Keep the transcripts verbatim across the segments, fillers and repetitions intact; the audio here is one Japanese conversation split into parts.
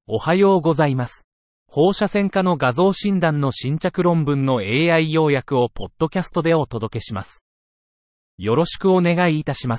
おはようございます。放射線科の画像診断の新着論文の エーアイ 要約をポッドキャストでお届けします。よろしくお願いいたします。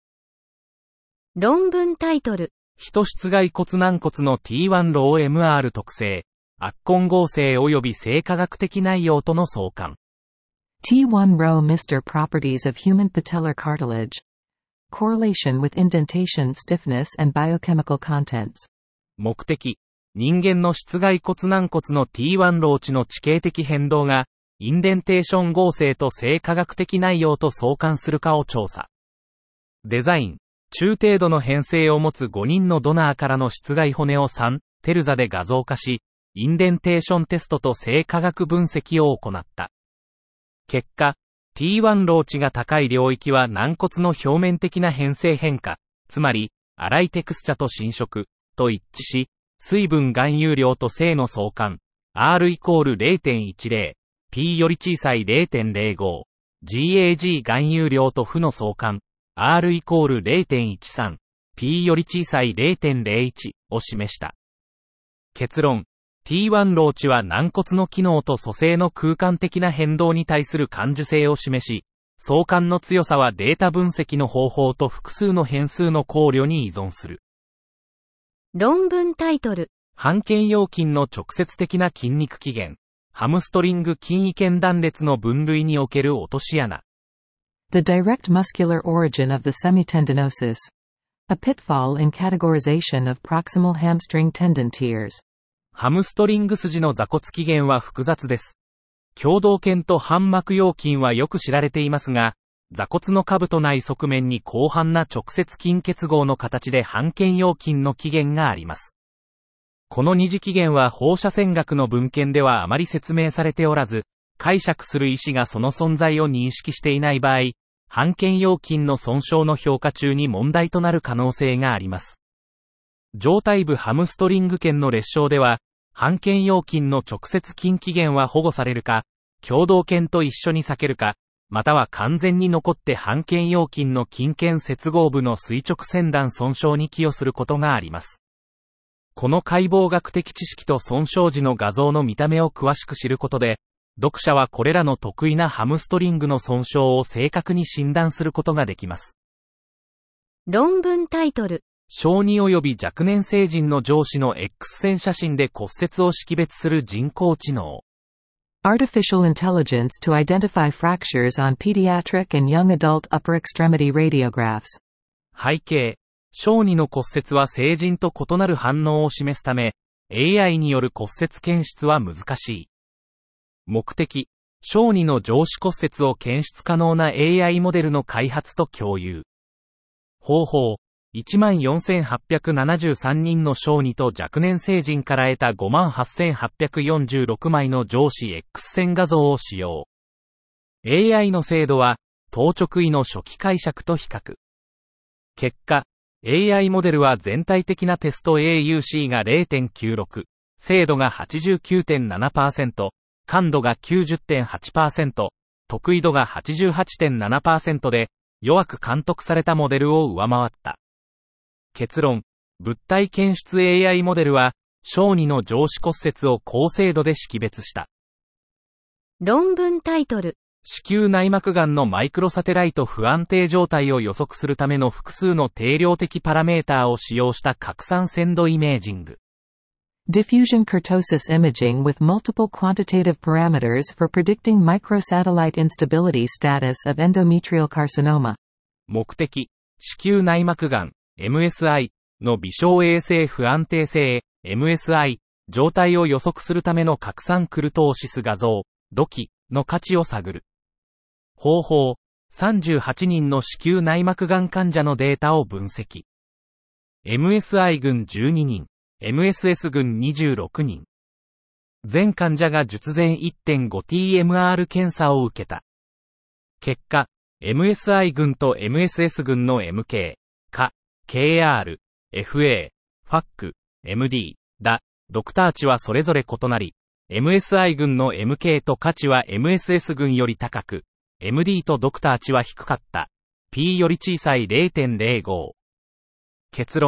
論文タイトル。 人室外骨軟骨の ティーワン ロー エムアール 特性、圧根合成及び生化学的内容との相関。 ティーワン row Mister Properties of Human Patellar Cartilage. Correlation with indentation stiffness and biochemical contents. 目的。人間の室外骨軟骨の ティーワン ロー値の地形的変動が、インデンテーション合成と生化学的内容と相関するかを調査。デザイン。中程度の変性を持つごにんのドナーからの室外骨をさんテルザで画像化し、インデンテーションテストと生化学分析を行った。結果、ティーワン ロー値が高い領域は軟骨の表面的な変性変化、つまり、粗いテクスチャと侵食、と一致し、水分含有量と正の相関、R イコール ゼロてんいちゼロ、P より小さい ゼロてんゼロご、ジーエージー 含有量と負の相関、R イコール ゼロてんいちさん、P より小さい ゼロてんゼロいち を示した。結論、ティーワン ロー値は軟骨の機能と組成の空間的な変動に対する感受性を示し、相関の強さはデータ分析の方法と複数の変数の考慮に依存する。 論文タイトル。 半腱腰筋の直接的な筋肉起源。ハムストリング筋位腱断裂の分類における落とし穴。 The direct muscular origin of the semitendinosus. A pitfall in categorization of proximal hamstring tendon tears. ハムストリング筋の座骨起源は複雑です。胸動腱と半膜腰筋はよく知られていますが、座骨の下部と内側面に広範な直接筋結合の形で半腱腰筋の起源があります。この二次起源は放射線学の文献ではあまり説明されておらず、解釈する医師がその存在を認識していない場合、半腱腰筋の損傷の評価中に問題となる可能性があります。上体部ハムストリング腱の裂傷では、半腱腰筋の直接筋起源は保護されるか、胸動腱と一緒に避けるか、または完全に残って半腱腰筋の筋腱接合部の垂直線断損傷に寄与することがあります。この解剖学的知識と損傷時の画像の見た目を詳しく知ることで、読者はこれらの得意なハムストリングの損傷を正確に診断することができます。 論文タイトル。 小児及び若年成人の上肢の X 線写真で骨折を識別する人工知能。 Artificial intelligence to identify fractures on pediatric and young adult upper extremity radiographs. 背景。小児の骨折は成人と異なる反応を示すため、エーアイ による骨折検出は難しい。目的。小児の上肢骨折を検出可能な エーアイ モデルの開発と共有。方法。いちまんよんせんはっぴゃくななじゅうさんにんの小児と若年成人から得た ごまんはっせんはっぴゃくよんじゅうろくまいの上肢 X 線画像を使用。エーアイ の精度は、当直位の初期解釈と比較。結果、エーアイ モデルは全体的なテスト エーユーシー が ゼロてんきゅうろく、精度が はちじゅうきゅうてんななパーセント、感度が きゅうじゅってんはちパーセント、特異度が はちじゅうはちてんななパーセント で、弱く監督されたモデルを上回った。結論、物体検出 エーアイ モデルは、小児の上肢骨折を高精度で識別した。 論文タイトル。 子宮内膜がんのマイクロサテライト不安定状態を予測するための複数の定量的パラメーターを使用した拡散鮮度イメージング。 Diffusion kurtosis imaging with multiple quantitative parameters for predicting microsatellite instability status of endometrial carcinoma. 目的、子宮内膜がん、エムエスアイ の微小衛星不安定性、エムエスアイ 状態を予測するための拡散クルトーシス画像、土器の価値を探る。方法、さんじゅうはちにんの子宮内膜がん患者のデータを分析。エムエスアイ 群じゅうににん、エムエスエス 群にじゅうろくにん。全患者が術前 いってんごティーエムアール 検査を受けた。結果、エムエスアイ 群と エムエスエス 群の エムケー、か、ケーアール、エフエー、ファック、エムディー、だ、ドクター値はそれぞれ異なり、エムエスアイ 群の エムケー と価値は エムエスエス 群より高く、エムディー とドクター値は低かった。P より小さい ゼロてんゼロご。結論、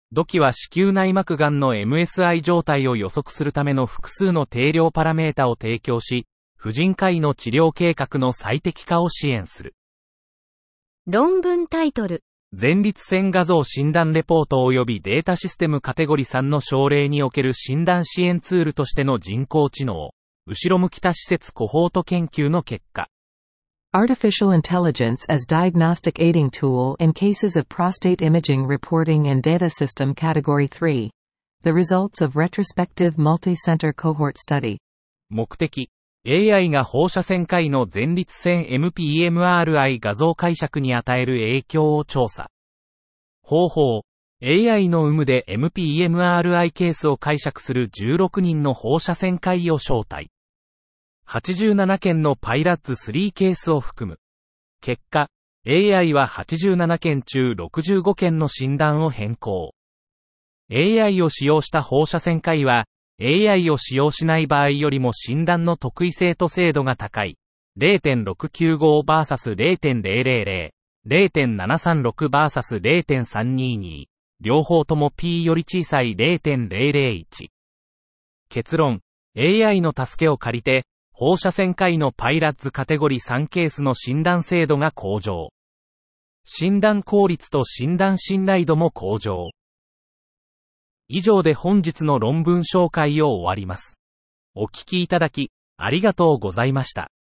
土器は子宮内膜がんの エムエスアイ 状態を予測するための複数の定量パラメータを提供し、婦人科医の治療計画の最適化を支援する。 論文タイトル。 前立腺画像診断レポート及びデータシステムカテゴリさんの症例における診断支援ツールとしての人工知能、後ろ向き多施設コホート研究の結果。 Artificial intelligence as diagnostic aiding tool in cases of prostate imaging reporting and data system category three. The results of retrospective multi-center cohort study. 目的。エーアイ が放射線科医の前立腺 エムピーエムアールアイ 画像解釈に与える影響を調査。方法。エーアイ の有無で エムピーエムアールアイ ケースを解釈するじゅうろくにんの放射線科医を招待。はちじゅうななけんのパイラッツスリーケースを含む。結果、エーアイ ははちじゅうななけん中ろくじゅうごけんの診断を変更。エーアイ を使用した放射線科医は、エーアイ を使用しない場合よりも診断の特異性と精度が高い ゼロてんろくきゅうごブイエス ゼロてんゼロゼロゼロ、ゼロてんななさんろくブイエス ゼロてんさんにに、両方とも P より小さい ゼロてんゼロゼロいち。結論、エーアイ の助けを借りて、放射線科医のパイラッツカテゴリーさんケースの診断精度が向上。診断効率と診断信頼度も向上。以上で本日の論文紹介を終わります。お聞きいただき、ありがとうございました。